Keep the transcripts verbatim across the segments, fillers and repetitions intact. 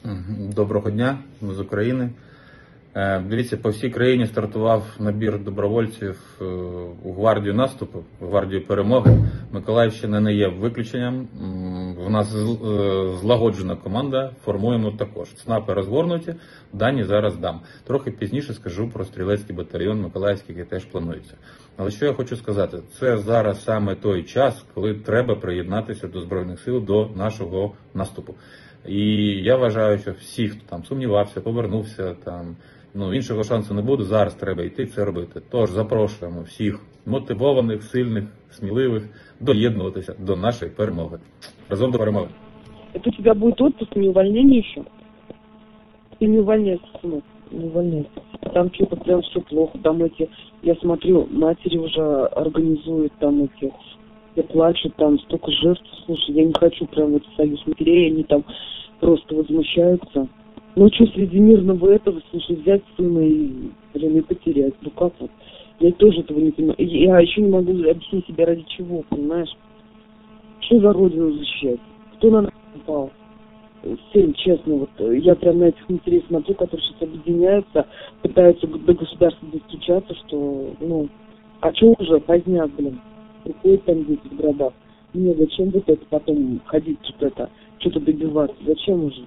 Доброго дня, ми з України. Дивіться, по всій країні стартував набір добровольців у гвардію наступу, у гвардію перемоги. Миколаївщина не є виключенням. В нас злагоджена команда, формуємо також. ЦНАПи розгорнуті, дані зараз дам. Трохи пізніше скажу про стрілецький батальйон Миколаївський, який теж планується. Але що я хочу сказати, це зараз саме той час, коли треба приєднатися до Збройних сил, до нашого наступу. І я вважаю, що всі, хто там сумнівався, повернувся, там, ну, іншого шансу не буде, зараз треба йти це робити. Тож запрошуємо всіх мотивованих, сильних, сміливих доєднуватися до нашої перемоги. Разом до перемоги. Это у тебя будет отпуск, не увольнение еще? Ты не увольняйся, сынок, не увольняйся. Там что-то прям все плохо, там эти, я смотрю, матери уже организуют там эти, все плачут, там столько жертв, слушай, я не хочу прям в этот союз матерей, они там просто возмущаются. Ну что, среди мирного этого, слушай, взять сына и, блин, и потерять, ну как вот? Я тоже этого не понимаю. Я еще не могу объяснить себе, ради чего, понимаешь? Что за родину защищать? Кто на нас упал? Всем, честно, вот я прям на этих матерей смотрю, которые сейчас объединяются, пытаются до государства достучаться, что, ну, а что уже, поздняк, блин, приходят там дети в гробах. Мне зачем вот это потом ходить, что-то это, что-то добиваться, зачем уже?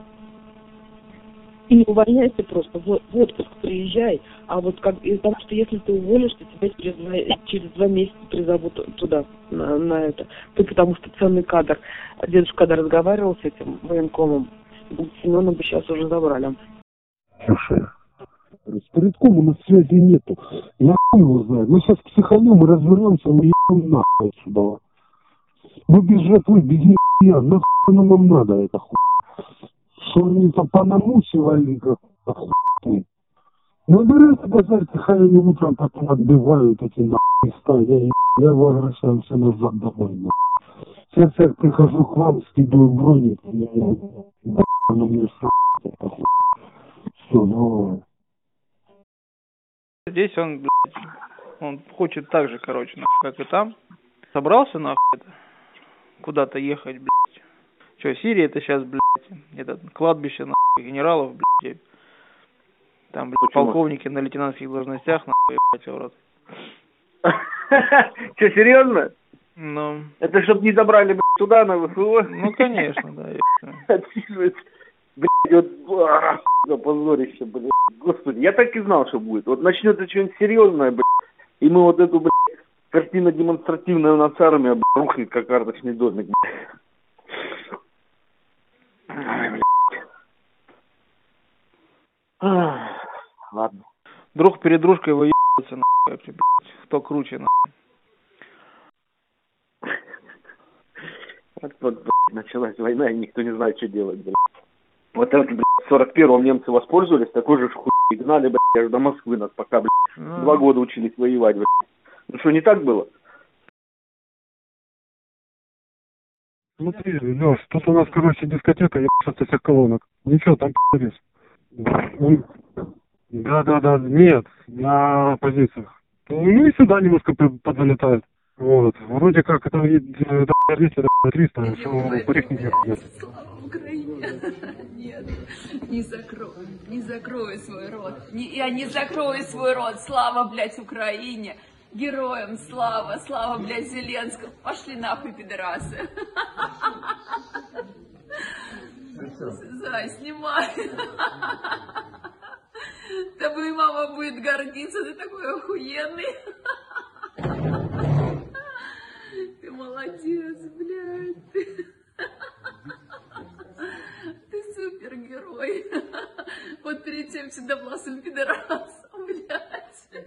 И не увольняйся просто, в, в отпуск приезжай, а вот как, потому что если ты уволишься, тебя через два, через два месяца призовут туда, на, на это. Ты потому что ценный кадр. Дедушка, когда разговаривал с этим военкомом, Семена бы сейчас уже забрали. Слушай, с Порядком у нас связи нету. Я хуй его знаю. Мы сейчас психанем и развернемся, мы ебем нахуй отсюда. Мы без жертвы, без нихуя. Нахуй нам надо это хуй. Что они там понамусивали, как хуй. Набирайся базарь, хай они утром потом отбивают эти нахуй места. Я, я возвращаюсь назад домой. Нахуй. Сейчас я прихожу к вам, скидываю броник. Я, оно мне срать. Все, давай. Здесь он, блядь, он хочет так же, короче, нахуй, как и там. Собрался, нахуй, это, куда-то ехать, блядь. Че, Сирия это сейчас, блядь, это кладбище, нахуй, генералов, блядь. Там, блядь, Почему? Полковники на лейтенантских должностях, нахуй, ебать, в рот. Че, серьезно? Ну. Это чтоб не забрали, блядь, туда, на ВСУ? Ну, конечно, да. Отсиживается. Блядь, вот, позорище, блядь. Господи, я так и знал, что будет. Вот начнется что-нибудь серьезное, блядь, и мы вот эту, блядь, картину демонстративную у нас армия, блядь, рухнет, как карточный домик, блядь. Ай, блядь. Ах, ладно. Друг перед дружкой выебываются, нахуй, блядь. Кто круче, нахуй. Вот, вот, блядь, началась война, и никто не знает, что делать, блядь. Вот это, блядь, в сорок первом немцы воспользовались, такой же хуй, и гнали, блядь, аж до Москвы нас, пока, блядь, ну... два года учились воевать, блядь. Ну что, не так было? Смотри, Лёш, тут у нас, короче, дискотека, ебаться всех колонок. Ничего, там пи***ись. Да-да-да, нет, на позициях. Ну и сюда немножко подзалетает. Вот, вроде как это двести, триста, все по технике. Слава Украине! Нет, не закрой, не закрой свой рот. Не, я не закрою свой рот. Слава, блядь, Украине! Героям слава, слава, блядь, Зеленскому. Пошли нахуй, пидорасы. Зай, снимай. Тобой мама будет гордиться, ты такой охуенный. Ты молодец, блядь. Ты супергерой. Вот перед тем седовласым пидорасом, блядь.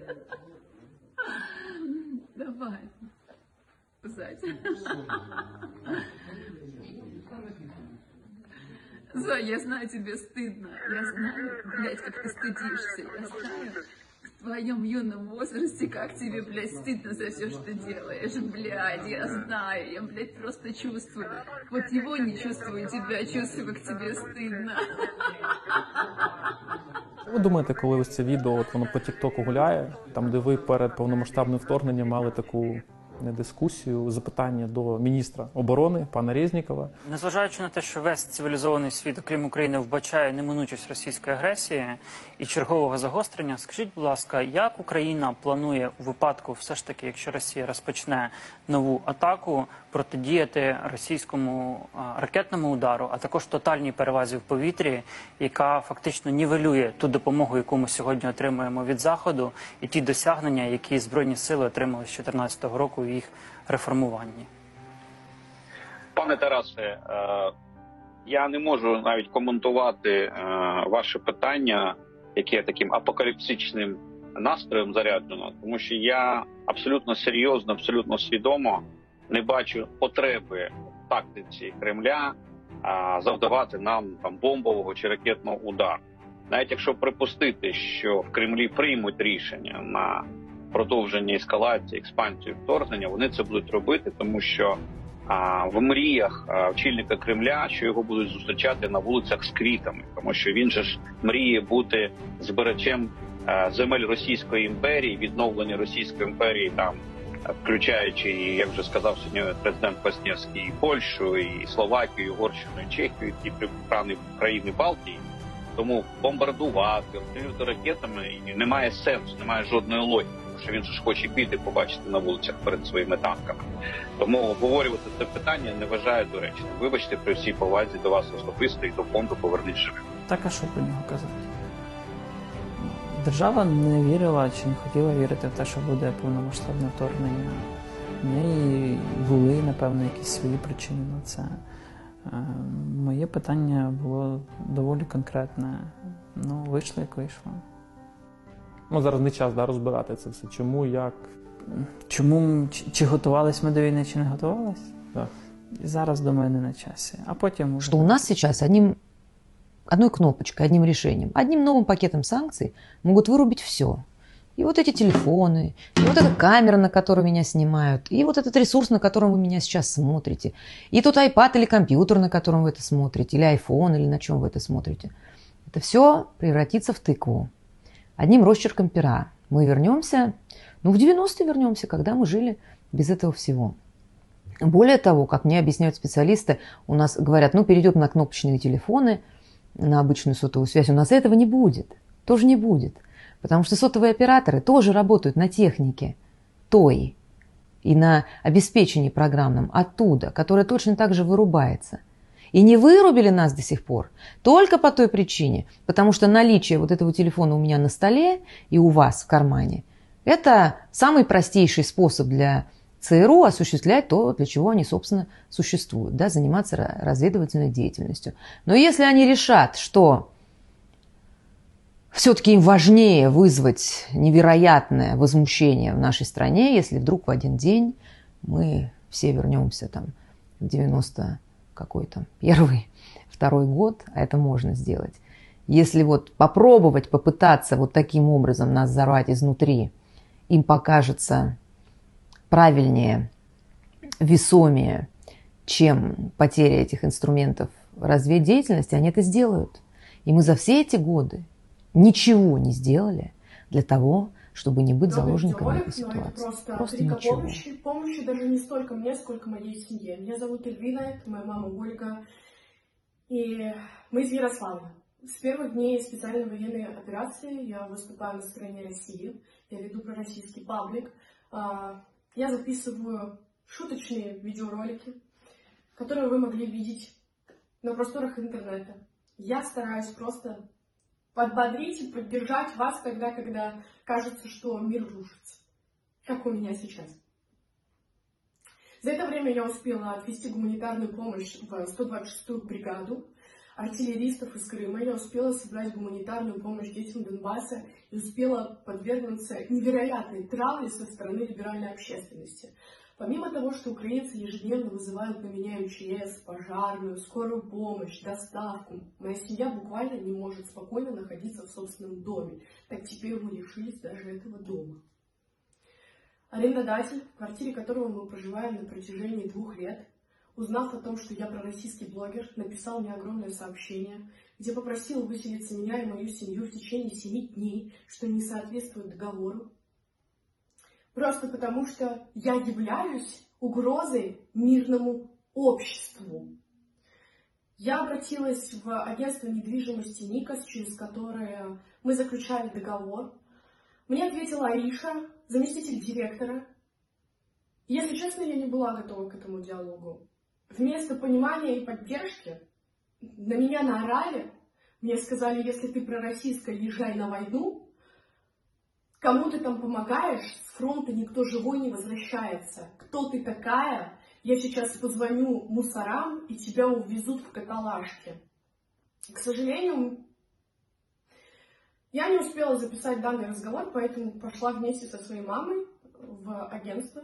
Давай. Зать. Зоя, я знаю, тебе стыдно. Я знаю, блядь, как ты стыдишься. Я знаю, в твоем юном возрасте, как тебе, блядь, стыдно за все, что делаешь. Блядь, я знаю. Я, блядь, просто чувствую. Вот его не чувствую тебя, чувствую, как тебе стыдно. Ви думаєте, коли ось це відео, от воно по тіктоку гуляє, там де ви перед повномасштабним вторгненням мали таку не дискусію, запитання до міністра оборони пана Резнікова. Незважаючи на те, що весь цивілізований світ, окрім України, вбачає неминучість російської агресії і чергового загострення, скажіть, будь ласка, як Україна планує у випадку, все ж таки, якщо Росія розпочне нову атаку, протидіяти російському а, ракетному удару, а також тотальній перевазі в повітрі, яка фактично нівелює ту допомогу, яку ми сьогодні отримуємо від Заходу, і ті досягнення, які Збройні сили отримали з дві тисячі чотирнадцятого року у їх реформуванні? Пане Тарасе, е, я не можу навіть коментувати е, ваше питання, яке таким апокаліпсичним настроєм заряджено, тому що я абсолютно серйозно, абсолютно свідомо не бачу потреби в тактиці Кремля а, завдавати нам там бомбового чи ракетного удару. Навіть якщо припустити, що в Кремлі приймуть рішення на продовження ескалації, експансію, вторгнення, вони це будуть робити, тому що а, в мріях а, очільника Кремля, що його будуть зустрічати на вулицях з квітами, тому що він же ж мріє бути збирачем а, земель Російської імперії, відновлення Російської імперії там, включаючи, як вже сказав сьогодні президент Квасневський, і Польщу, і Словакію, і Угорщину, і Чехію, і приправні країни Балтії. Тому бомбардувати, обстрілювати ракетами немає сенсу, немає жодної логіки, тому що він же ж хоче квіти побачити на вулицях перед своїми танками. Тому обговорювати це питання не вважаю доречним. Вибачте, при всій повазі до вас особисто і до фонду «Повернись живим». Так, а що про нього казати? Держава не вірила чи не хотіла вірити в те, що буде повномасштабне вторгнення. В неї були, напевно, якісь свої причини на це. Моє питання було доволі конкретне. Ну, вийшло, як вийшло. Ну, зараз не час, да, розбирати це все. Чому, як? Чому, чи, чи готувались ми до війни, чи не готувались? Так. Зараз, думаю, не на часі. А потім уже... Что у нас сейчас одним, одной кнопочкой, одним решением, одним новым пакетом санкций могут вырубить все. И вот эти телефоны, и вот эта камера, на которую меня снимают, и вот этот ресурс, на котором вы меня сейчас смотрите, и тот iPad или компьютер, на котором вы это смотрите, или iPhone, или на чем вы это смотрите. Это все превратится в тыкву. Одним росчерком пера мы вернемся, ну в девяностые вернемся, когда мы жили без этого всего. Более того, как мне объясняют специалисты, у нас говорят, ну перейдем на кнопочные телефоны, на обычную сотовую связь. У нас этого не будет, тоже не будет. Потому что сотовые операторы тоже работают на технике той и на обеспечении программном оттуда, которая точно так же вырубается. И не вырубили нас до сих пор только по той причине, потому что наличие вот этого телефона у меня на столе и у вас в кармане – это самый простейший способ для ЦРУ осуществлять то, для чего они, собственно, существуют, да, заниматься разведывательной деятельностью. Но если они решат, что все-таки им важнее вызвать невероятное возмущение в нашей стране, если вдруг в один день мы все вернемся там в девяносто какой-то первый, второй год, а это можно сделать. Если вот попробовать, попытаться вот таким образом нас взорвать изнутри, им покажется правильнее, весомее, чем потеря этих инструментов разведдеятельности, они это сделают. И мы за все эти годы ничего не сделали для того, чтобы не быть заложниками этой ситуации. Просто, просто ничего. Помощи, помощи даже не столько мне, сколько моей семье. Меня зовут Эльвина, это моя мама Ольга, и мы из Ярославля. С первых дней специальной военной операции я выступаю на стороне России, я веду пророссийский паблик, я записываю шуточные видеоролики, которые вы могли видеть на просторах интернета. Я стараюсь просто подбодрить и поддержать вас тогда, когда кажется, что мир рушится, как у меня сейчас. За это время я успела отвести гуманитарную помощь в сто двадцать шестую бригаду артиллеристов из Крыма. Я успела собрать гуманитарную помощь детям Донбасса и успела подвергнуться невероятной травле со стороны либеральной общественности. Помимо того, что украинцы ежедневно вызывают на меня эм че эс, пожарную, скорую помощь, доставку, моя семья буквально не может спокойно находиться в собственном доме. Так теперь мы лишились даже этого дома. Арендодатель, в квартире которого мы проживаем на протяжении двух лет, узнав о том, что я пророссийский блогер, написал мне огромное сообщение, где попросил выселиться меня и мою семью в течение семи дней, что не соответствует договору. Просто потому, что я являюсь угрозой мирному обществу. Я обратилась в агентство недвижимости Никос, через которое мы заключали договор. Мне ответила Аиша, заместитель директора. Если честно, я не была готова к этому диалогу. Вместо понимания и поддержки на меня наорали. Мне сказали, если ты пророссийская, езжай на войну. Кому ты там помогаешь, с фронта никто живой не возвращается. Кто ты такая? Я сейчас позвоню мусорам, и тебя увезут в каталажке. К сожалению, я не успела записать данный разговор, поэтому пошла вместе со своей мамой в агентство.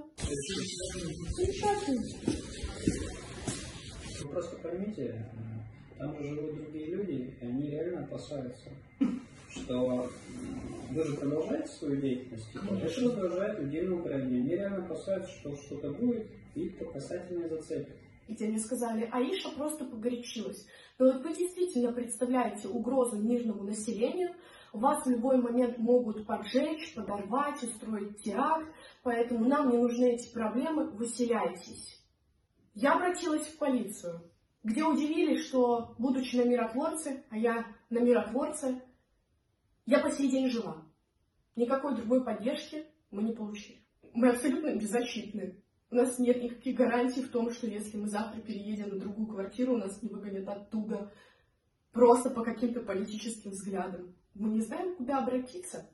Вы просто поймите, там же живут другие люди, и они реально опасаются, что вы же продолжаете свою деятельность, это раздражает людей на Украине. Они реально опасаются, что что-то будет, и их по касательной зацепят. Где мне сказали, Аиша просто погорячилась. Но вот вы действительно представляете угрозу мирному населению, вас в любой момент могут поджечь, подорвать, устроить теракт, поэтому нам не нужны эти проблемы, выселяйтесь. Я обратилась в полицию, где удивились, что, будучи на миротворце, а я на миротворце, я по сей день жива. Никакой другой поддержки мы не получили. Мы абсолютно беззащитны. У нас нет никаких гарантий в том, что если мы завтра переедем на другую квартиру, нас не выгонят оттуда просто по каким-то политическим взглядам. Мы не знаем, куда обратиться.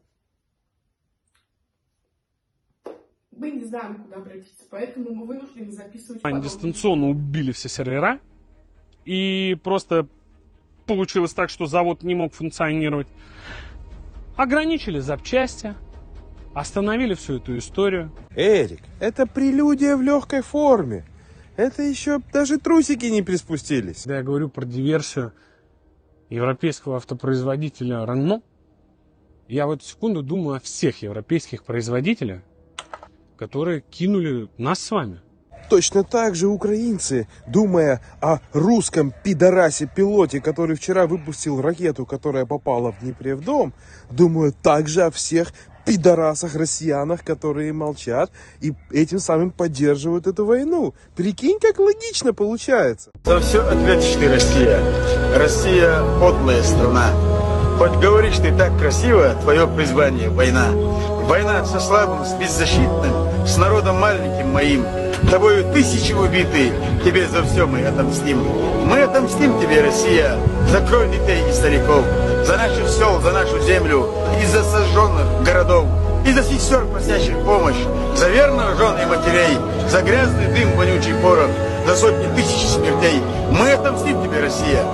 Мы не знаем, куда обратиться, поэтому мы вынуждены записывать Они подобные. дистанционно убили все сервера, и просто получилось так, что завод не мог функционировать. Ограничили запчасти, остановили всю эту историю. Эрик, это прелюдия в легкой форме. Это еще даже трусики не приспустились. Когда я говорю про диверсию европейского автопроизводителя Renault, я в эту секунду думаю о всех европейских производителях, которые кинули нас с вами. Точно так же украинцы, думая о русском пидорасе-пилоте, который вчера выпустил ракету, которая попала в Днепре в дом, думают также о всех пидорасах-россиянах, которые молчат и этим самым поддерживают эту войну. Прикинь, как логично получается. За все ответишь ты, Россия. Россия – подлая страна. Хоть говоришь ты так красиво, твое призвание – война. Война со слабым, с беззащитным, с народом маленьким моим. Тобою тысячи убиты, тебе за все мы отомстим. Мы отомстим тебе, Россия, за кровь детей и стариков, за наших сел, за нашу землю, и за сожженных городов, и за сестер, просящих помощь, за верных жен и матерей, за грязный дым, вонючий порох, за сотни тысяч смертей. Мы отомстим тебе, Россия.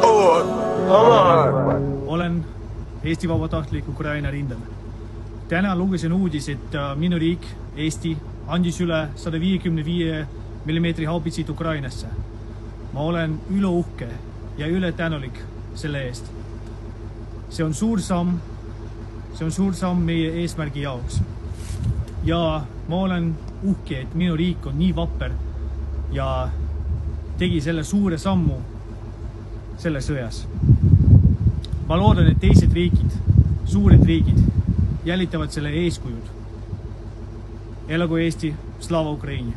Olen Eesti vabatahtlik Ukraina rindel. Täna lugesin uudis, et minu riik, Eesti, andis üle sada viiekümne viie millimeetri haubitsid Ukrainasse. Ma olen üle-uhke ja üle-tänulik selle eest. See on suur samm, see on suur samm meie eesmärgi jaoks. Ja ma olen uhke, et minu riik on nii vapper ja tegi selle suure sammu selles sõjas. Ma loodan, et teised riigid, suured riigid jälitavad selle eeskujud. Elagu Eesti, слава Украине.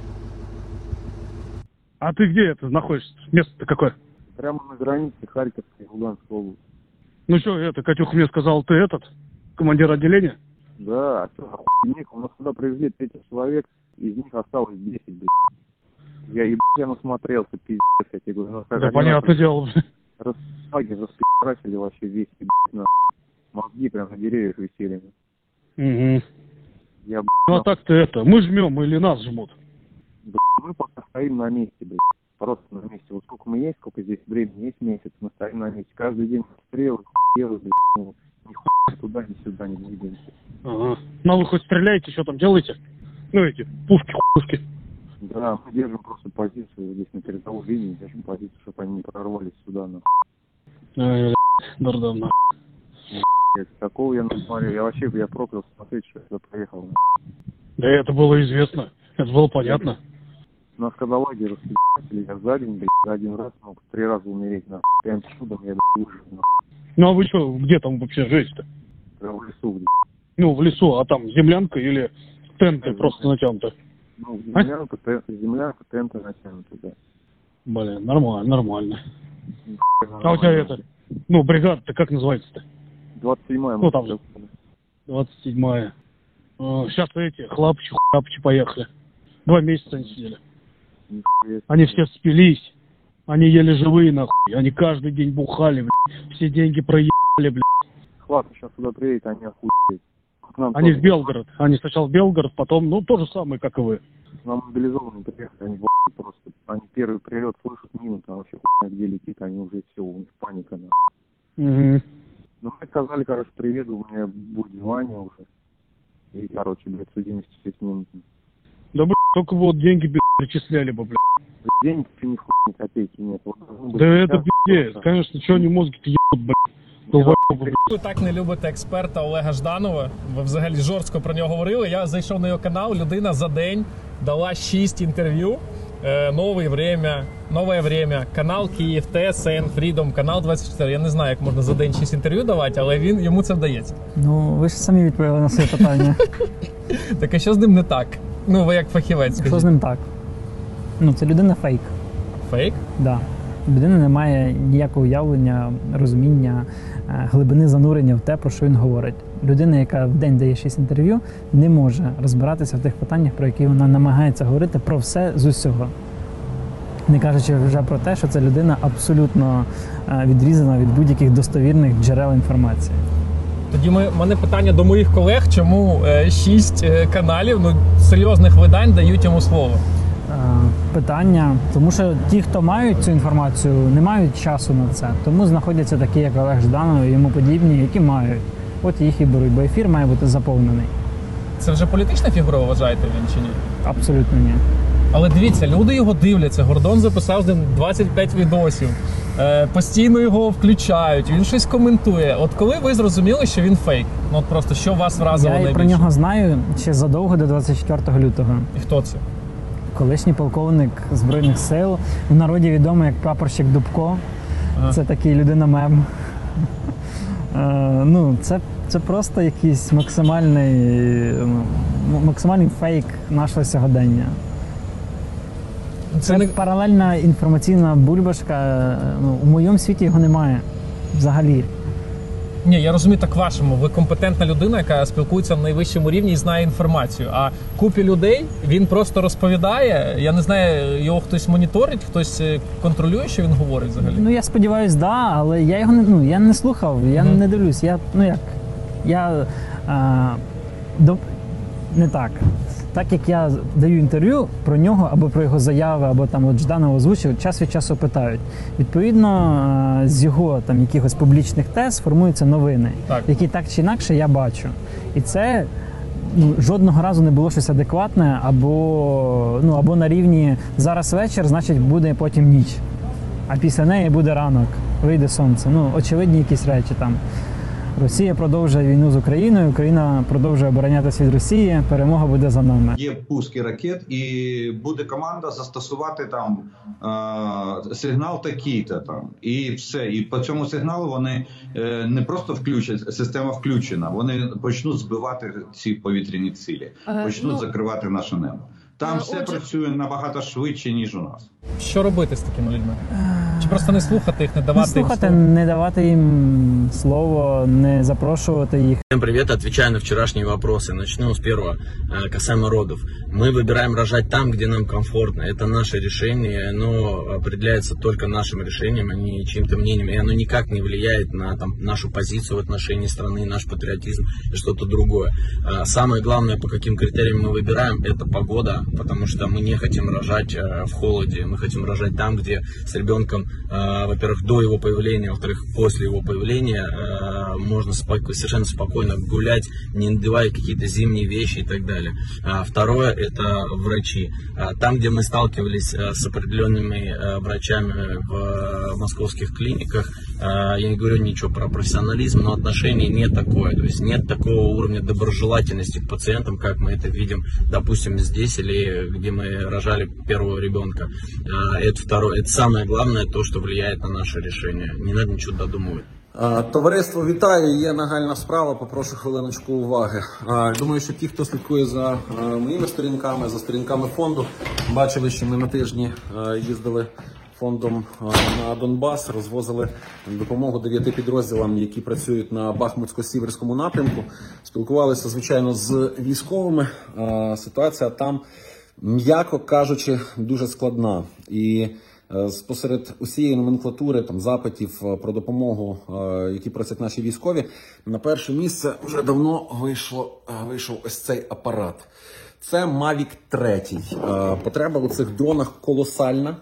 А ты где это находишься? Место-то какое? Прямо на границе Харьковской и Луганской области. Ну что, это, Катюха мне сказал, ты этот, командир отделения? Да, а что, охуенник, у нас сюда привезли тридцать человек, из них осталось десять, блядь. Я ебать, я насмотрелся, пиздец, я тебе говорю. Ну, да, понятное дело. Расфаги распи***расили вообще весь, ебать, на мозги прям на деревьях висели. Угу. Я, блядь, ну а так-то это, мы жмем или нас жмут? Блядь, мы пока стоим на месте, блядь. Просто на месте. Вот сколько мы есть, сколько здесь времени, есть месяц, мы стоим на месте. Каждый день стрелы, хуелы, блядь, ну, ни хуя туда, ни сюда не двигаемся. Ага. Ну вы хоть стреляете, что там делаете? Ну эти, пушки, пушки. Да, мы держим просто позицию здесь на передовой линии, держим позицию, чтобы они не прорвались сюда, нахуй. Ай, дурдом, нахуй. Такого я не смотрел. Я вообще, я проклял смотреть, что я сюда проехал. Нахуй. Да это было известно, это было понятно. Нас когда лагерь распи***ли, я за день, блядь, за один раз мог три раза умереть, нахуй. Прям чудом я, блядь, выжил, нахуй. Ну а вы что, где там вообще живете-то? Прям в лесу, блядь. Ну, в лесу, а там землянка или Тенты просто натянуты. Ну, землянку, тен- землянку, тенты натянуты, да. Блин, нормально, нормально. А у тебя это, ну, бригада-то как называется-то? двадцать седьмая. Ну, там же. двадцать седьмая. Сейчас эти, хлапчи, хлапчи поехали. Два месяца они сидели. Они все спились. Они еле живые, нахуй. Они каждый день бухали, блядь. Все деньги проебали, блядь. Хлад сейчас сюда приедет, они охуеют. К нам Они тоже- в Белгород. Они сначала в Белгород, потом, ну, то же самое, как и вы. Нам мобилизованные приехали, они в охуе просто. Они первый прилет слышат мину, там вообще хуйня где летит, они уже все, у них паника, нахуй. Угу. Ну, мы сказали, короче, приеду, у меня будет звание уже. И, короче, блядь, судимости шесть минут. Да, блядь, только вот деньги, блядь, перечисляли бы, блядь. Денег вообще ни хуй, ни копейки нет. Вот должно быть Да это сейчас пиздец. просто. Конечно, что они мозги-то ебут, блядь. Долбоёбы, блядь. Ви так не любите експерта Олега Жданова. Ви взагалі жорстко про нього говорили. Я зайшов на його канал. Людина за день дала шість інтерв'ю. Е, Нове время, нове время, канал Київ, ТСН, Freedom, канал двадцять чотири. Я не знаю, як можна за день шість інтерв'ю давати, але він йому це вдається. Ну, ви ж самі відповіли на своє питання. Так а що з ним не так? Ну, ви як фахівець, Що скажіть. з ним так? Ну, це людина фейк. Фейк? Да. У людини немає ніякого уявлення, розуміння, е, глибини занурення в те, про що він говорить. Людина, яка в день дає шість інтерв'ю, не може розбиратися в тих питаннях, про які вона намагається говорити про все з усього. Не кажучи вже про те, що ця людина абсолютно е, відрізана від будь-яких достовірних джерел інформації. Тоді ми, в мене питання до моїх колег, чому е, шість е, каналів, ну, серйозних видань дають йому слово. Е, Питання, тому що ті, хто мають цю інформацію, не мають часу на це. Тому знаходяться такі, як Олег Жданов і йому подібні, які мають. От їх і беруть, бо ефір має бути заповнений. Це вже політична фігура, вважаєте він чи ні? Абсолютно ні. Але дивіться, люди його дивляться. Гордон записав з ним двадцять п'ять відосів. Е, постійно його включають, він щось коментує. От коли ви зрозуміли, що він фейк? Ну от просто що вас вразило Я і найбільше? про нього знаю ще задовго до двадцять четвертого лютого. І хто це? Колишній полковник Збройних сил, в народі відомий як прапорщик Дубко. Ага. Це такий людина-мем. Е, ну, це, це просто якийсь максимальний, ну, м- максимальний фейк нашого сьогодення. Це, не- паралельна інформаційна бульбашка. Ну, у моєму світі його немає взагалі. Ні, я розумію так вашому. Ви компетентна людина, яка спілкується на найвищому рівні і знає інформацію. А купі людей він просто розповідає. Я не знаю, його хтось моніторить, хтось е, контролює, що він говорить взагалі. Ну я сподіваюся, да, але я його не, ну, я не слухав, я Мгм. не дивлюсь. Я, ну як, я а, до, не так. Так як я даю інтерв'ю про нього або про його заяви, або там от Жданов озвучив, час від часу питають. Відповідно, а, з його там якихось публічних тез формуються новини, Так. які так чи інакше я бачу. І це ну, жодного разу не було щось адекватне, або, ну, або на рівні зараз вечір, значить буде потім ніч. А після неї буде ранок, вийде сонце. Ну, очевидні якісь речі там. Росія продовжує війну з Україною, Україна продовжує оборонятися від Росії, перемога буде за нами. Є пуски ракет, і буде команда застосувати там е- сигнал такий-то там, і все. І по цьому сигналу вони е- не просто включать, система включена, вони почнуть збивати ці повітряні цілі, Е, почнуть ну, закривати наше небо. Там е, все отже- працює набагато швидше, ніж у нас. Що робити з такими людьми? Чи просто не слухати їх, не Не давати їм слухати, слово? не давати їм слово, не запрошувати їх. Всем привет, отвечаю на вчерашние вопросы. Начну с первого, э, касаемо родов. Мы выбираем рожать там, где нам комфортно. Это наше решение, оно определяется только нашим решением, а не чьим-то мнением. И оно никак не влияет на там, нашу позицию в отношении страны, наш патриотизм и что-то другое. А самое главное, по каким критериям мы выбираем, это погода, потому что мы не хотим рожать э, в холоде. Мы хотим рожать там, где с ребенком, э, во-первых, до его появления, во-вторых, после его появления э, можно споко- совершенно спокойно гулять, не надевая какие-то зимние вещи и так далее. А второе – это врачи. А там, где мы сталкивались э, с определенными э, врачами в э, московских клиниках, э, я не говорю ничего про профессионализм, но отношение не такое. То есть нет такого уровня доброжелательности к пациентам, как мы это видим, допустим, здесь или где мы рожали первого ребенка. А это второе. Это самое главное, то, что влияет на наше решение. Не надо ничего додумывать. Товариство, вітаю, є нагальна справа, попрошу хвилиночку уваги. Думаю, що ті, хто слідкує за моїми сторінками, за сторінками фонду, бачили, що ми на тижні їздили фондом на Донбас, розвозили допомогу дев'яти підрозділам, які працюють на Бахмутсько-Сіверському напрямку. Спілкувалися, звичайно, з військовими. Ситуація там, м'яко кажучи, дуже складна. І спосеред усієї номенклатури там запитів про допомогу, які просять наші військові, на перше місце вже давно вийшло, вийшов ось цей апарат. Це Мавік три. Потреба у цих дронах колосальна.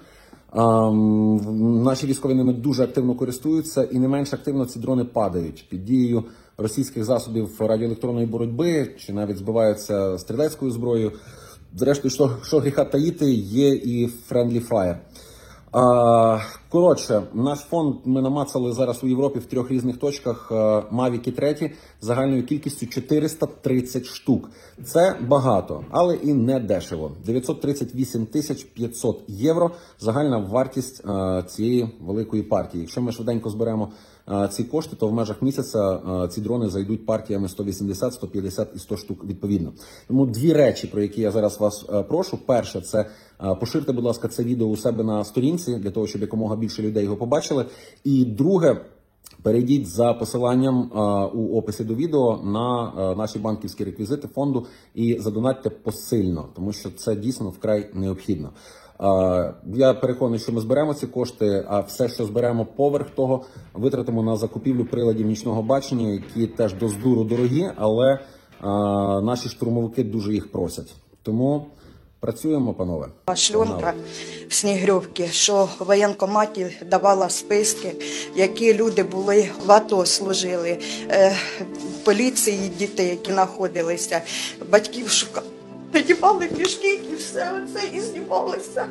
Наші військові ними дуже активно користуються, і не менш активно ці дрони падають під дією російських засобів радіоелектронної боротьби, чи навіть збиваються стрілецькою зброєю. Зрештою, що, що гріха таїти, є і Friendly Fire. А, коротше, наш фонд ми намацали зараз у Європі в трьох різних точках Мавіки три загальною кількістю чотириста тридцять штук. Це багато, але і не дешево. дев'ятсот тридцять вісім тисяч п'ятсот євро загальна вартість а, цієї великої партії. Якщо ми швиденько зберемо а, ці кошти, то в межах місяця а, ці дрони зайдуть партіями сто вісімдесят, сто п'ятдесят і сто штук відповідно. Тому дві речі, про які я зараз вас а, прошу. Перше, це а, поширте, будь ласка, це відео у себе на сторінці, для того, щоб якомога більше людей його побачили. І друге, перейдіть за посиланням а, у описі до відео на а, наші банківські реквізити фонду і задонатьте посильно, тому що це дійсно вкрай необхідно. А, я переконаний, що ми зберемо ці кошти, а все, що зберемо поверх того, витратимо на закупівлю приладів нічного бачення, які теж до здуру дорогі, але а, наші штурмовики дуже їх просять. Тому працюємо, панове. Шльонка в Снігрівці, що в воєнкоматі давала списки, які люди були в АТО, служили, е, поліції дітей, які знаходилися, батьків шукали. Надівали пішки і все оце, і знімалося.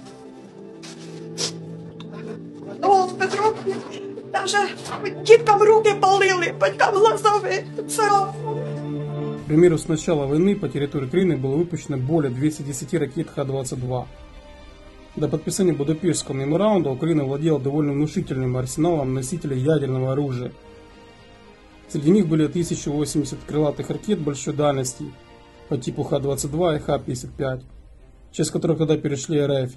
Ну, в Петровці навіть діткам руки палили, батькам глазові царапали. К примеру, с начала войны по территории Украины было выпущено более двухсот десяти ракет Х двадцать два. До подписания Будапештского меморандума Украина владела довольно внушительным арсеналом носителей ядерного оружия. Среди них были тысяча восемьдесят крылатых ракет большой дальности по типу Х двадцать два и Х пятьдесят пять, часть которых тогда перешли РФ.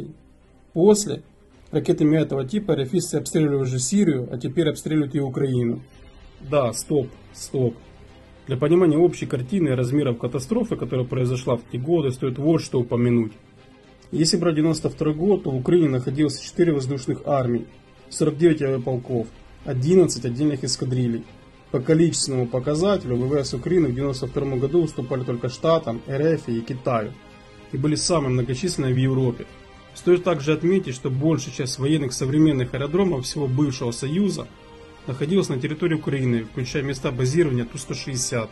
После ракетами этого типа РФисты обстреливали уже Сирию, а теперь обстреливают и Украину. Да, стоп, стоп. Для понимания общей картины и размеров катастрофы, которая произошла в те годы, стоит вот что упомянуть. Если брать девяносто второй год, то в Украине находилось четыре воздушных армии, сорок девять авиаполков, одиннадцать отдельных эскадрилей. По количественному показателю в ВВС Украины в девяносто втором году уступали только Штатам, РФ и Китаю, и были самые многочисленные в Европе. Стоит также отметить, что большая часть военных современных аэродромов всего бывшего Союза находилась на территории Украины, включая места базирования Ту сто шестьдесят.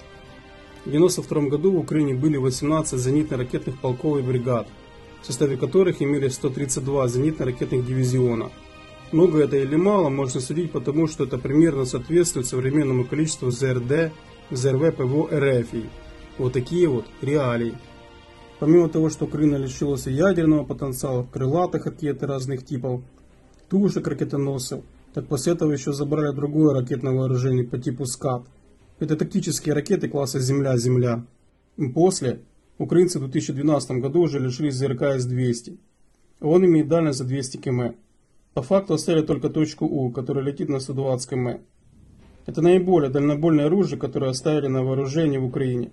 В девяносто втором году в Украине были восемнадцать зенитно-ракетных полков и бригад, в составе которых имелись сто тридцать два зенитно-ракетных дивизиона. Много это или мало, можно судить потому, что это примерно соответствует современному количеству ЗРД, ЗРВ ПВО РФ. Вот такие вот реалии. Помимо того, что Украина лишилась ядерного потенциала, крылатых ракет разных типов, тушек ракетоносцев, так после этого еще забрали другое ракетное вооружение по типу СКАД. Это тактические ракеты класса Земля-Земля. После украинцы в две тысячи двенадцатом году уже лишились ЗРК С двести. Он имеет дальность за двести километров. По факту оставили только точку У, которая летит на сто двадцать километров. Это наиболее дальнобойное оружие, которое оставили на вооружении в Украине.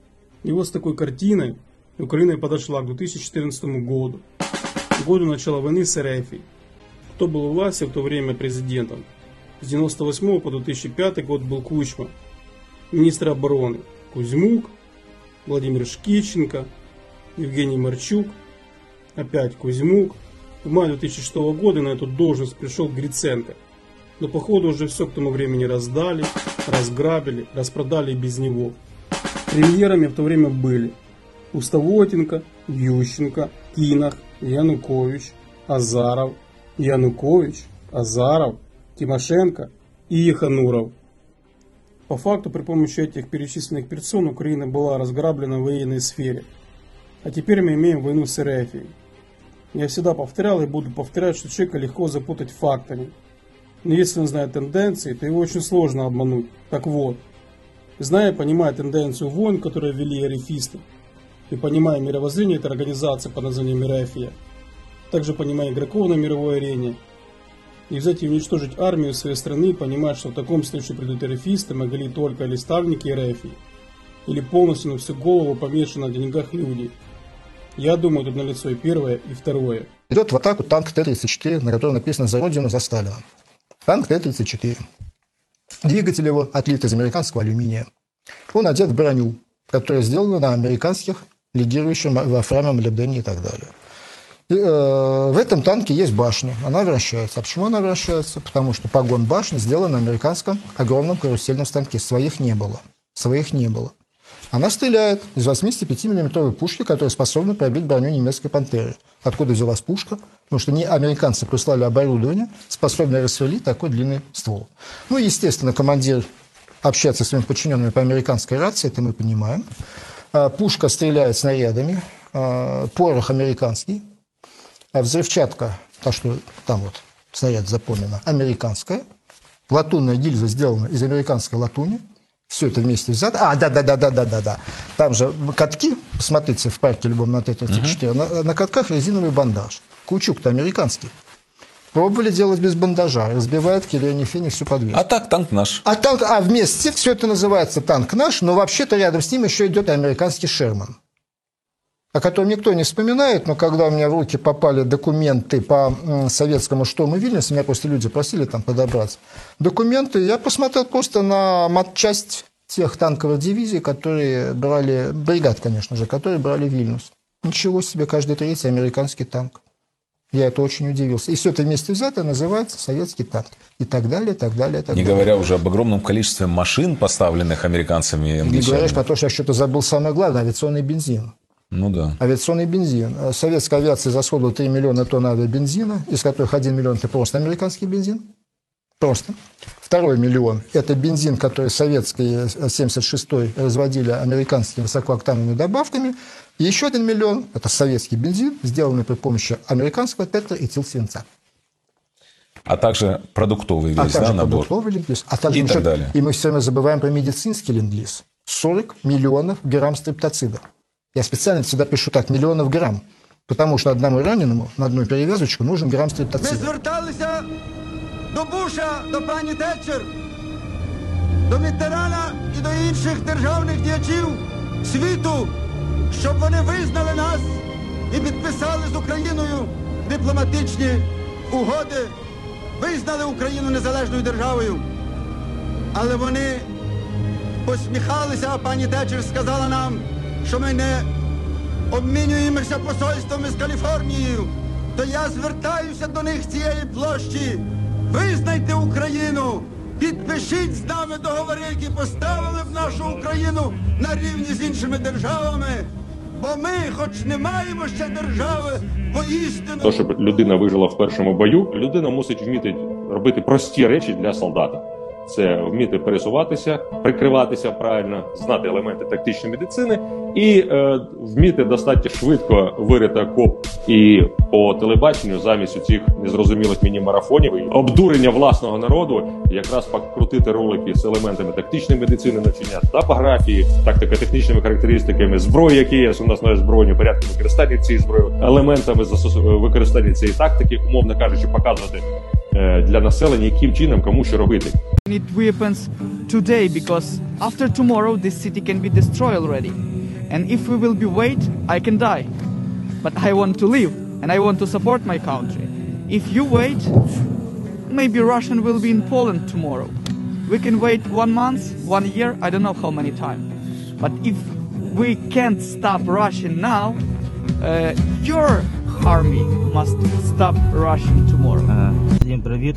И вот с такой картиной Украина подошла к две тысячи четырнадцатому году, году начала войны с РФ. Кто был у власти в то время президентом? С девяносто восьмого по две тысячи пятый год был Кучма. Министр обороны Кузьмук, Владимир Шкиченко, Евгений Марчук, опять Кузьмук. В мае две тысячи шестого года на эту должность пришел Гриценко. Но походу уже все к тому времени раздали, разграбили, распродали и без него. Премьерами в то время были Пустовотенко, Ющенко, Кинах, Янукович, Азаров, Янукович, Азаров, Тимошенко и Ехануров. По факту, при помощи этих перечисленных персон Украина была разграблена в военной сфере. А теперь мы имеем войну с РФ. Я всегда повторял и буду повторять, что человека легко запутать фактами. Но если он знает тенденции, то его очень сложно обмануть. Так вот, зная и понимая тенденцию войн, которые вели арифисты, и понимая мировоззрение этой организации под названием Мирафия, также понимая игроков на мировой арене, и взять и уничтожить армию своей страны, и понимать, что в таком случае придут арифисты, могли только или ставники Рефии, или полностью на всю голову помешаны на деньгах люди. Я думаю, тут налицо и первое, и второе. Идет в атаку танк Т тридцать четыре, на котором написано «За Родину, за Сталина». Танк Т тридцать четыре. Двигатель его отлит из американского алюминия. Он одет в броню, которая сделана на американских лидирующих вольфраме, молибдене и так далее. И, э, в этом танке есть башня, она вращается. А почему она вращается? Потому что погон башни сделан на американском огромном карусельном станке. Своих не было. Своих не было. Она стреляет из восьмидесятипятимиллиметровой пушки, которая способна пробить броню немецкой «Пантеры». Откуда взялась пушка? Потому что не американцы прислали оборудование, способное расстрелить такой длинный ствол. Ну, естественно, командир общается с своими подчиненными по американской рации, это мы понимаем. Пушка стреляет снарядами, порох американский, а взрывчатка, та, что там вот снаряд запомнена, американская, латунная гильза сделана из американской латуни. Все это вместе взято. А, да-да-да-да-да-да-да. Там же катки, посмотрите в парке любом на Т тридцать четыре, uh-huh. на, на катках резиновый бандаж. Каучук-то американский. Пробовали делать без бандажа. Разбивает Кирилл Феник всю подвеску. А так танк наш. А, танк, а вместе все это называется танк наш, но вообще-то рядом с ним еще идет американский Шерман, о котором никто не вспоминает, но когда у меня в руки попали документы по советскому штурму Вильнюса, меня просто люди просили там подобраться документы, я посмотрел просто на матчасть тех танковых дивизий, которые брали, бригад, конечно же, которые брали Вильнюс. Ничего себе, каждый третий американский танк. Я это очень удивился. И все это вместе взято называется советский танк. И так далее, и так далее, и так Не далее. говоря уже об огромном количестве машин, поставленных американцами и англичанами. Не говоришь про то, что я что-то забыл самое главное, авиационный бензин. Ну да. Авиационный бензин. Советская авиация израсходовала три миллиона тонн авиабензина, из которых один миллион – это просто американский бензин. Просто. Второй миллион – это бензин, который советские семьдесят шестой разводили американскими высокооктановыми добавками. И еще один миллион – это советский бензин, сделанный при помощи американского тетраэтилсвинца. А также продуктовый весь, а также да, набор? продуктовый ленд-лиз. А также и еще, так далее. И мы все время забываем про медицинский ленд-лиз. сорок миллионов грамм стриптоцида. Я специально всегда пишу так, миллионов грамм. Потому что одному раненому на одну перевязочку нужен грамм Ми стриптоцида. зверталися до Буша, до пані Тетчер, до Міттерана і до інших державних діячів світу, щоб вони визнали нас і підписали з Україною дипломатичні угоди, визнали Україну незалежною державою. Але вони посміхалися, а пані Тетчер сказала нам, що ми не обмінюємося посольствами з Каліфорнією. То я звертаюся до них з цієї площі. Визнайте Україну, підпишіть з нами договори, які поставили б нашу Україну на рівні з іншими державами. Бо ми, хоч не маємо ще держави, воістину... То, щоб людина вижила в першому бою, людина мусить вміти робити прості речі для солдата. Це вміти пересуватися, прикриватися правильно, знати елементи тактичної медицини і е, вміти достатньо швидко вирити окоп і по телебаченню замість цих незрозумілих міні-марафонів і обдурення власного народу якраз покрутити ролики з елементами тактичної медицини, навчання топографії, тактико-технічними характеристиками зброї, які є у нас на озброєнні, порядку використання цієї зброї, елементами використання цієї тактики, умовно кажучи, показувати для населення, яким чином, кому що робити. We need weapons today because after tomorrow this city can be destroyed already. And if we will be wait, I can die. But I want to live and I want to support my country. If you wait, maybe Russian will be in Poland tomorrow. We can wait one month, one year, I don't know how many times. But if we can't stop Russian now, uh, your army must stop Russian tomorrow. Всім привіт.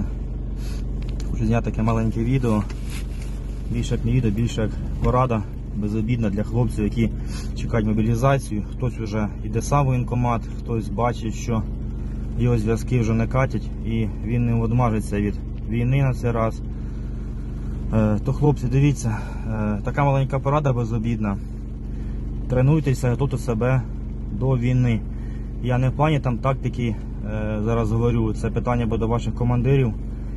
Хочу зняти таке маленьке відео. Більше як не відео, більше як порада безобідна для хлопців, які чекають мобілізацію. Хтось вже йде сам в воєнкомат, хтось бачить, що його зв'язки вже не катять і він не одмажиться від війни на цей раз. То, хлопці, дивіться, така маленька порада безобідна. Тренуйтеся, готуйте себе до війни. Я не в плані там тактики зараз говорю, це питання буде до ваших командирів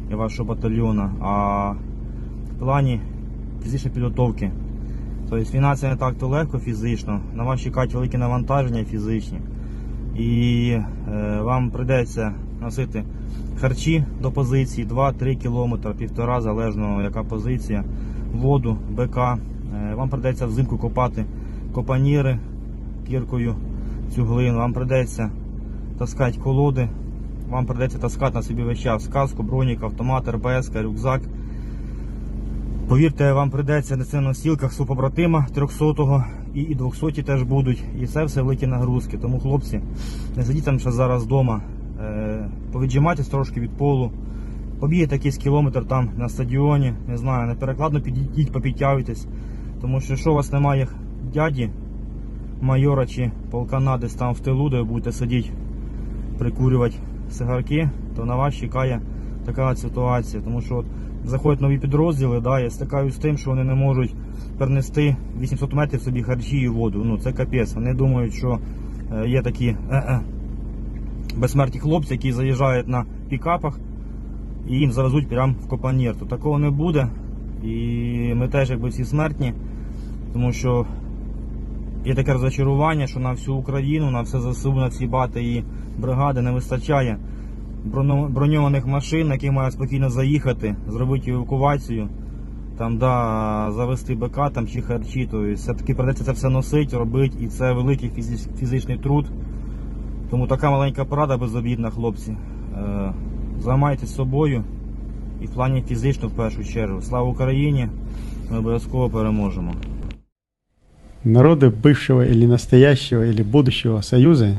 і вашого батальйону, а в плані фізичної підготовки. Тобто війна це не так то легко фізично, на вас чекають великі навантаження фізичні. І е, вам прийдеться носити харчі до позиції два-три кілометри, півтора, залежно яка позиція, воду, БК. Е, вам прийдеться взимку копати копаніри кіркою цю глину, вам прийдеться таскати колоди, вам прийдеться таскати на собі весь час каску, бронік, автомат, РПС, рюкзак. Повірте, вам прийдеться нести на носілках свого побратима трьохсотого і двохсоті теж будуть. І це все великі нагрузки. Тому, хлопці, не сидіть там ще зараз вдома, е, повіджимайтесь трошки від полу, побігайте якийсь кілометр там на стадіоні, не знаю, неперекладно підійдіть, попідтягуйтесь. Тому що якщо у вас немає дяді, майора чи полкана десь там в тилу, де ви будете сидіти, прикурювати сигарки, то на вас чекає така ситуація. Тому що от заходять нові підрозділи, да, я стикаюсь з тим, що вони не можуть перенести вісімсот метрів собі харчі і воду. Ну це капець. Вони думають, що е, є такі е-е, безсмертні хлопці, які заїжджають на пікапах і їм завезуть прямо в Копанір. То такого не буде. І ми теж якби всі смертні, тому що є таке розчарування, що на всю Україну, на все ЗСУ, на всі бати і бригади не вистачає броньованих машин, які мають спокійно заїхати, зробити евакуацію, там, да, завести БК там, чи харчі. Тобто все-таки придеться це все носити, робити, і це великий фізичний труд. Тому така маленька порада безобідна, хлопці. Е, займайтесь собою і в плані фізично в першу чергу. Слава Україні! Ми обов'язково переможемо. Народы бывшего или настоящего или будущего Союза,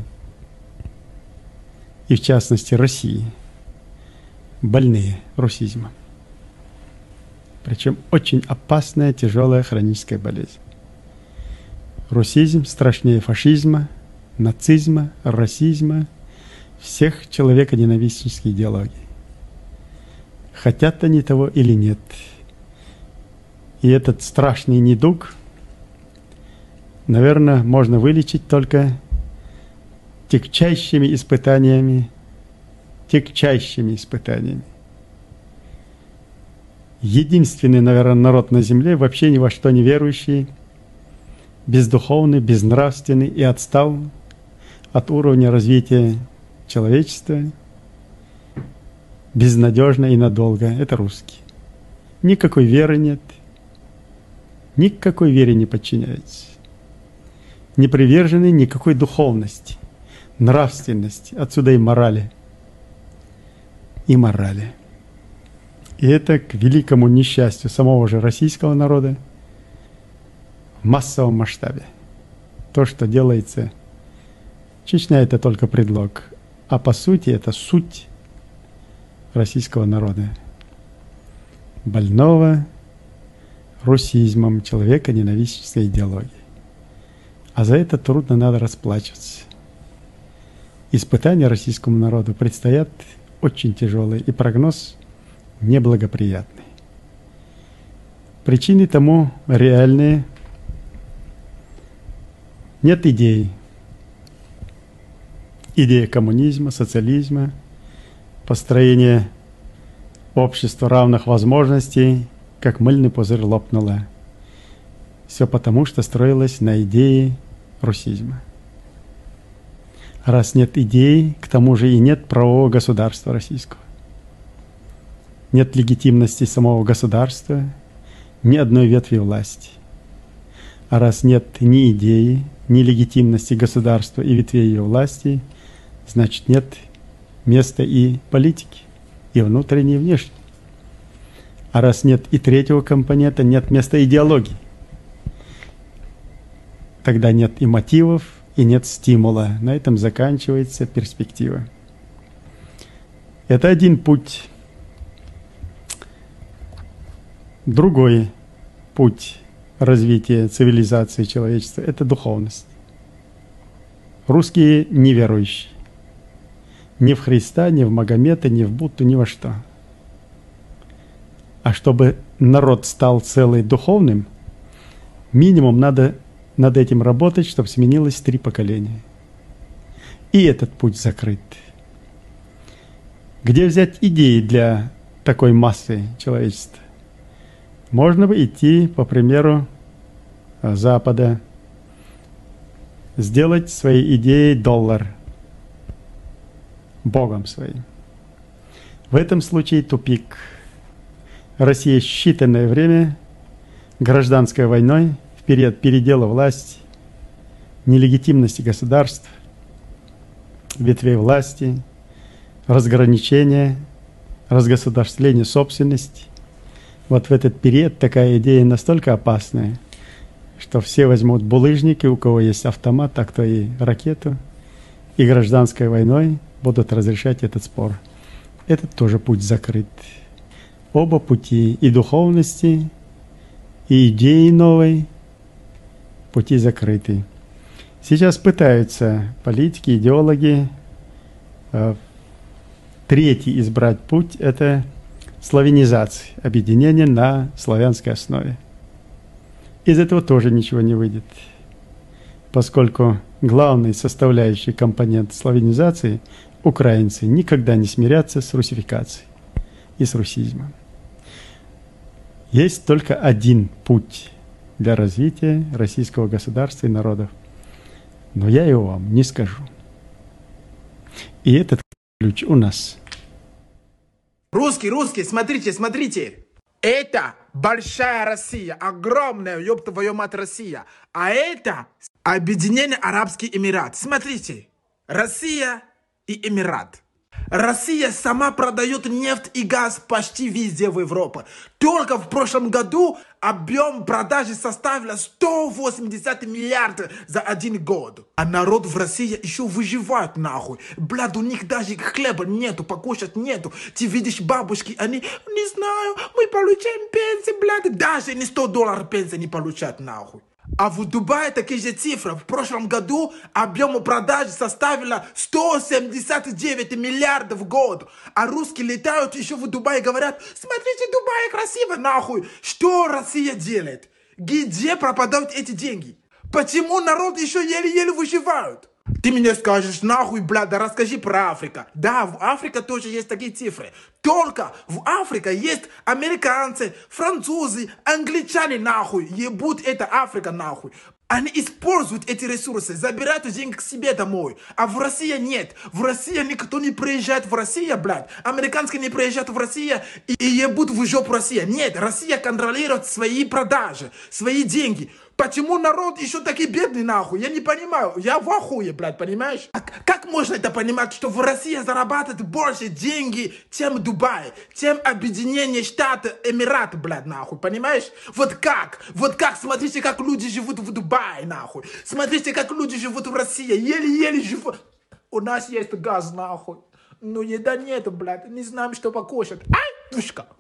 и в частности России, больные русизмом. Причем очень опасная, тяжелая хроническая болезнь. Русизм страшнее фашизма, нацизма, расизма, всех человеконенавистнических идеологий. Хотят они того или нет. И этот страшный недуг, наверное, можно вылечить только тягчайшими испытаниями, тягчайшими испытаниями. Единственный, наверное, народ на земле, вообще ни во что не верующий, бездуховный, безнравственный и отстал от уровня развития человечества, безнадежно и надолго. Это русские. Никакой веры нет, никакой вере не подчиняется. Не привержены никакой духовности, нравственности, отсюда и морали. И морали. И это к великому несчастью самого же российского народа в массовом масштабе. То, что делается, Чечня — это только предлог, а по сути это суть российского народа, больного русизмом, человеконенавистнической идеологией. А за это трудно надо расплачиваться. Испытания российскому народу предстоят очень тяжелые, и прогноз неблагоприятный. Причины тому реальные. Нет идей. Идея коммунизма, социализма, построение общества равных возможностей, как мыльный пузырь лопнула. Все потому, что строилось на идее русизма. Раз нет идей, к тому же и нет правового государства российского. Нет легитимности самого государства, ни одной ветви власти. А раз нет ни идеи, ни легитимности государства и ветвей ее власти, значит нет места и политики, и внутренней, и внешней. А раз нет и третьего компонента, нет места идеологии. Тогда нет и мотивов, и нет стимула. На этом заканчивается перспектива. Это один путь. Другой путь развития цивилизации человечества – это духовность. Русские неверующие. Ни в Христа, ни в Магомета, ни в Будду, ни во что. А чтобы народ стал целый духовным, минимум надо над этим работать, чтобы сменилось три поколения. И этот путь закрыт. Где взять идеи для такой массы человечества. Можно бы идти по примеру Запада, сделать своей идеей доллар богом своим. В этом случае тупик. Россия считанное время гражданской войной в период передела власти, нелегитимности государств, ветвей власти, разграничения, разгосударствления собственности. Вот в этот период такая идея настолько опасная, что все возьмут булыжники, у кого есть автомат, а кто и ракету, и гражданской войной будут разрешать этот спор. Этот тоже путь закрыт. Оба пути, и духовности, и идеи новой, пути закрыты. Сейчас пытаются политики, идеологи э, третий избрать путь – это славянизация, объединение на славянской основе. Из этого тоже ничего не выйдет, поскольку главный составляющий компонент славянизации – украинцы никогда не смирятся с русификацией и с русизмом. Есть только один путь для развития российского государства и народов, но я его вам не скажу. И этот ключ у нас. Русский, русский, смотрите, смотрите. Это большая Россия, огромная, ёб твою мать, Россия. А это Объединенный Арабский Эмират. Смотрите, Россия и Эмират. Россия сама продает нефть и газ почти везде в Европе. Только в прошлом году объем продажи составил сто восемьдесят миллиардов за один год. А народ в России еще выживает нахуй. Блядь, у них даже хлеба нету, покушать нету. Ты видишь бабушки, они, не знаю, мы получаем пенсию, блядь. Даже не сто долларов пенсии не получают нахуй. А в Дубае такие же цифры. В прошлом году объем продаж составил сто семьдесят девять миллиардов в год. А русские летают еще в Дубае и говорят: смотрите, Дубай красиво, нахуй. Что Россия делает? Где пропадают эти деньги? Почему народ еще еле-еле выживает? Ты мне скажешь, нахуй, блядь, да расскажи про Африку. Да, в Африке тоже есть такие цифры. Только в Африке есть американцы, французы, англичане, нахуй. Ебут это Африка, нахуй. Они используют эти ресурсы, забирают деньги к себе домой. А в России нет. В России никто не приезжает в Россию, блядь. Американские не приезжают в Россию и, и ебут в жопу Россия. Нет, Россия контролирует свои продажи, свои деньги. Почему народ еще такой бедный, нахуй? Я не понимаю. Я в ахуе, блядь, понимаешь? А как можно это понимать, что в России зарабатывает больше деньги, чем Дубай, чем Объединение Штатов, Эмират, блядь, нахуй, понимаешь? Вот как? Вот как? Смотрите, как люди живут в Дубае, нахуй. Смотрите, как люди живут в России. Еле-еле живут. У нас есть газ, нахуй. Но еда нету, блядь. Не знаем, что покушать. Ай, пушка.